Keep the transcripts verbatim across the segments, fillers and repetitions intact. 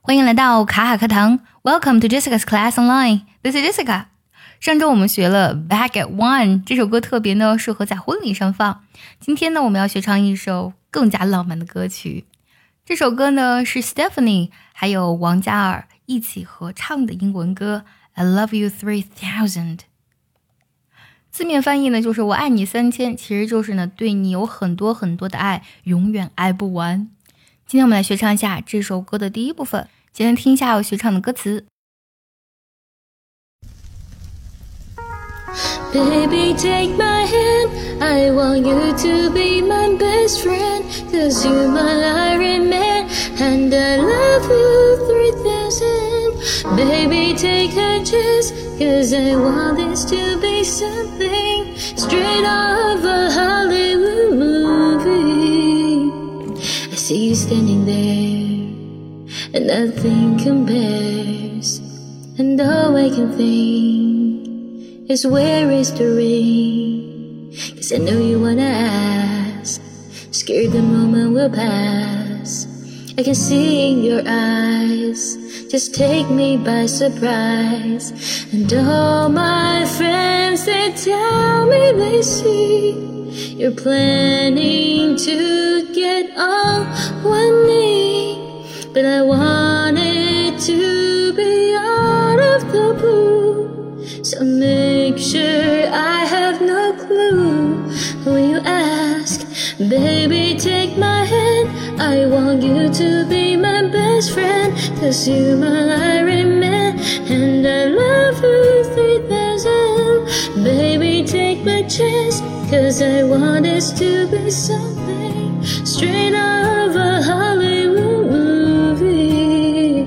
欢迎来到卡卡课堂 Welcome to Jessica's Class Online. This is Jessica. 上周我们学了 Back at One 这首歌，特别呢适合在婚礼上放。今天呢我们要学唱一首更加浪漫的歌曲。这首歌呢是 Stephanie 还有王嘉尔一起合唱的英文歌 I Love You three thousand。 字面翻译呢就是我爱你三千，其实就是呢对你有很多很多的爱，永远爱不完。今天我们来学唱一下这首歌的第一部分，先来听一下我学唱的歌词。 Baby, take my hand, I want you to be my best friend, cause you're my Iron Man, and I love you three thousand. Baby, take a chance, cause I want this to be something straight out of a Hollywood movie. I see you standing there, and nothing compares, and all I can think is where is the ring? Cause I know you wanna ask, scared the moment will pass. I can see in your eyes, just take me by surprise. And all my friends, they tell me they see you're planning to get on one knee. But I want it to be out of the blue, so make sure I have no clue when you ask. Baby, take my hand, I want you to be my best friend, cause you're my Iron Man, and I love you three thousand. Baby, take my chance, cause I want this to be something straight out of a Hollywood movie.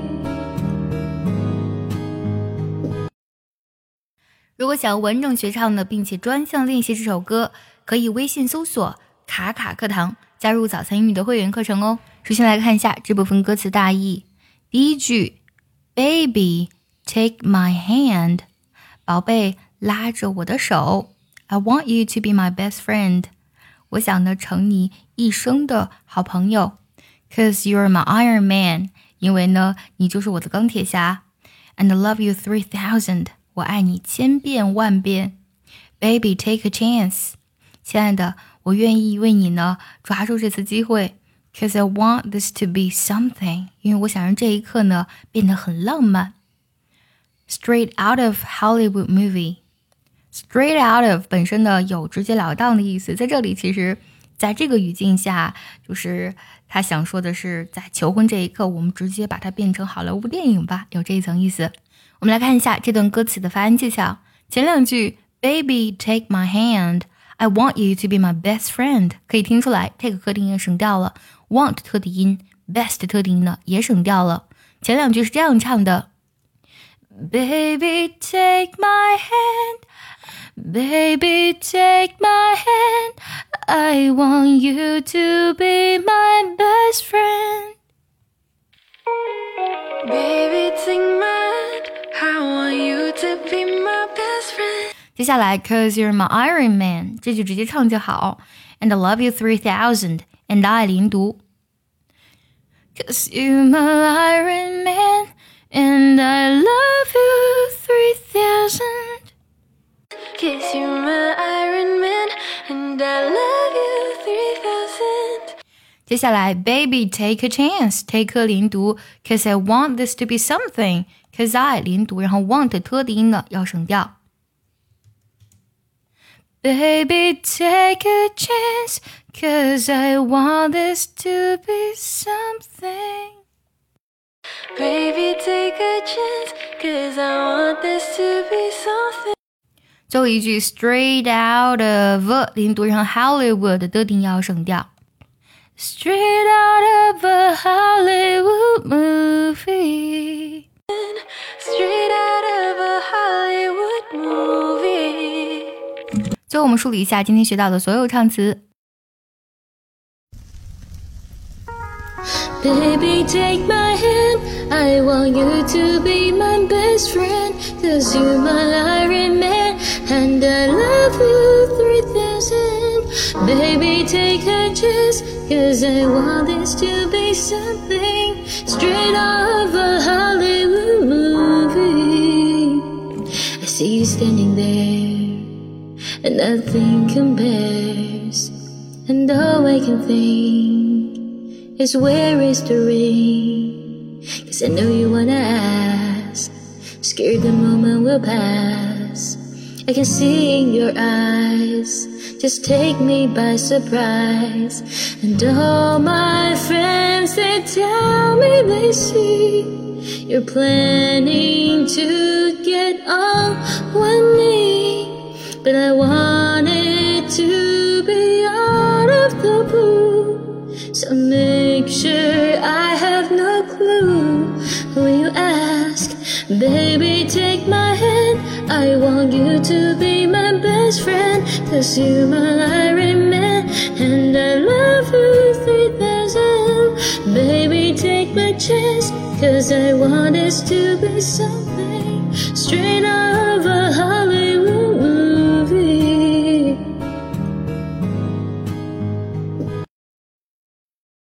如果想要完整学唱的并且专项练习这首歌，可以微信搜索卡卡课堂，加入早餐英语的会员课程哦。首先来看一下这部分歌词大意。第一句 Baby, take my hand， 宝贝拉着我的手， I want you to be my best friend， 我想呢成你一生的好朋友， Cause you're my Iron Man， 因为呢你就是我的钢铁侠， And I love you three thousand，我爱你千遍万遍。 Baby, take a chance， 亲爱的，我愿意为你呢抓住这次机会， Cause I want this to be something， 因为我想让这一刻呢变得很浪漫。 Straight out of Hollywood movie， Straight out of 本身呢有直截了当的意思，在这里其实在这个语境下，就是他想说的是在求婚这一刻我们直接把它变成好莱坞电影吧，有这一层意思。我们来看一下这段歌词的发音技巧。前两句 Baby, take my hand， I want you to be my best friend， 可以听出来 take 特定音省掉了， want 特定音 best 特定音呢也省掉了。前两句是这样唱的 Baby, take my hand， Baby, take my hand， I want you to be my best friend， Baby, take my I want you to be my best friend。 接下来 Cause you're my Iron Man 这句直接唱就好， And I love you three thousand， And I 连读 Cause you're my Iron Man And I love you three thousand， Cause you're my Iron Man And I love you three thousand。 接下来 Baby, take a chance take 连读 Cause I want this to be something Cause I 连读，然后 want 特的音呢要省掉。 Baby, take a chance Cause I want this to be something Baby, take a chance Cause I want this to be something。 最后一句 Straight out of 连读，然后 Hollywood 的音要省掉。 Straight out of a Hollywood movie， Straight out of a Hollywood movie。 最后我们梳理一下今天学到的所有唱词。 Baby, take my hand, I want you to be my best friend, cause you're my Iron Man, and I love you three thousand. Baby, take a chance, cause I want this to be something straight out of a nothing compares. And all I can think is where is the ring? Cause I know you wanna ask, scared the moment will pass. I can see in your eyes, just take me by surprise. And all my friends, they tell me they see you're planning to get on one knee. But I want it to be out of the blue, so make sure I have no clue. When you ask, baby, take my hand, I want you to be my best friend. Cause you're my Iron Man, and I love you three thousand. Baby, take my chance, cause I want us to be something.